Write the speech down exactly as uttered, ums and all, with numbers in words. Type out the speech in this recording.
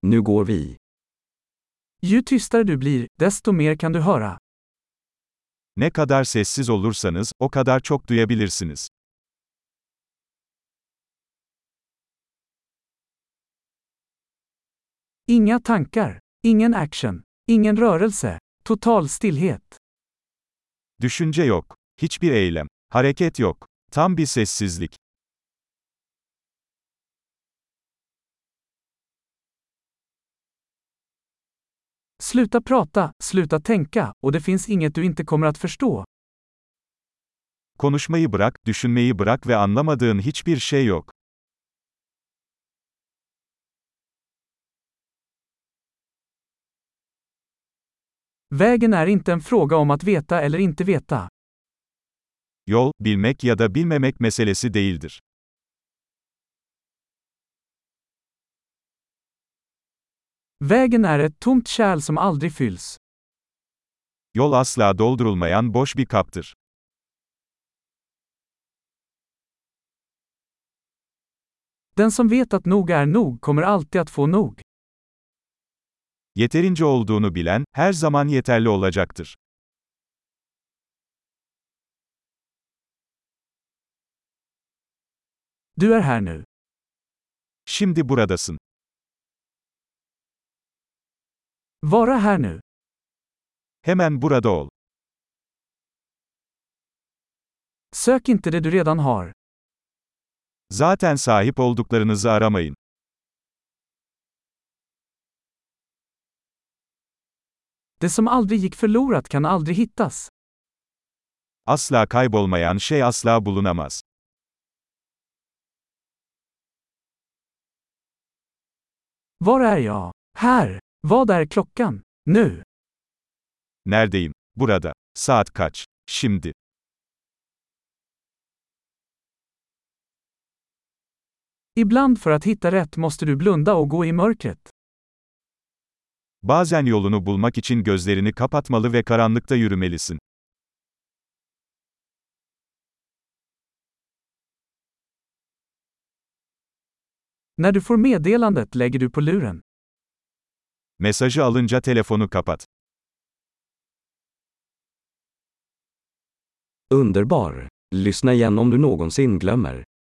Nu går vi. Ju tystare du blir, desto mer kan du höra. Ne kadar sessiz olursanız, o kadar çok duyabilirsiniz. Inga tankar, ingen action, ingen rörelse, total stillhet. Düşünce yok. Hiçbir eylem. Hareket yok. Tam bir sessizlik. Sluta prata, sluta tänka, och det finns inget du inte kommer att förstå. Konuşmayı bırak, düşünmeyi bırak ve anlamadığın hiçbir şey yok. Vägen är inte en fråga om att veta eller inte veta. Yol, bilmek ya da bilmemek meselesi değildir. Vägen är ett tomt kärl som aldrig fylls. Yol asla doldurulmayan boş bir kaptır. Den som vet att nog är nog kommer alltid att få nog. Yeterince olduğunu bilen, her zaman yeterli olacaktır. Du är här nu. Şimdi buradasın. Vara här nu. Hemen burada ol. Sök inte det du redan har. Zaten sahip olduklarınızı aramayın. Det som aldrig gick förlorat kan aldrig hittas. Asla kaybolmayan şey asla bulunamaz. Var är jag? Här. Vad är klockan? Nu. Neredeyim? Burada. Saat kaç? Şimdi. Ibland för att hitta rätt måste du blunda och gå i mörkret. Bazen yolunu bulmak için gözlerini kapatmalı ve karanlıkta yürümelisin. När du får meddelandet lägger du på luren. Mesajı alınca telefonu kapat. Underbar! Lyssna igen om du någonsin glömmer.